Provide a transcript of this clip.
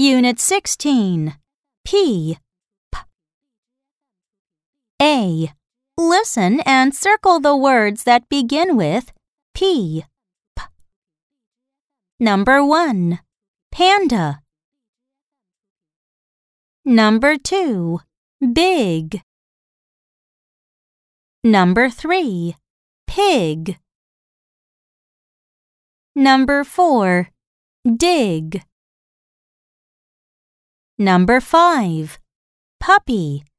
Unit 16. P. P. A. Listen and circle the words that begin with P. P. Number 1. Panda. Number 2. Big. Number 3. Pig. Number 4. Dig. Number 5. Puppy.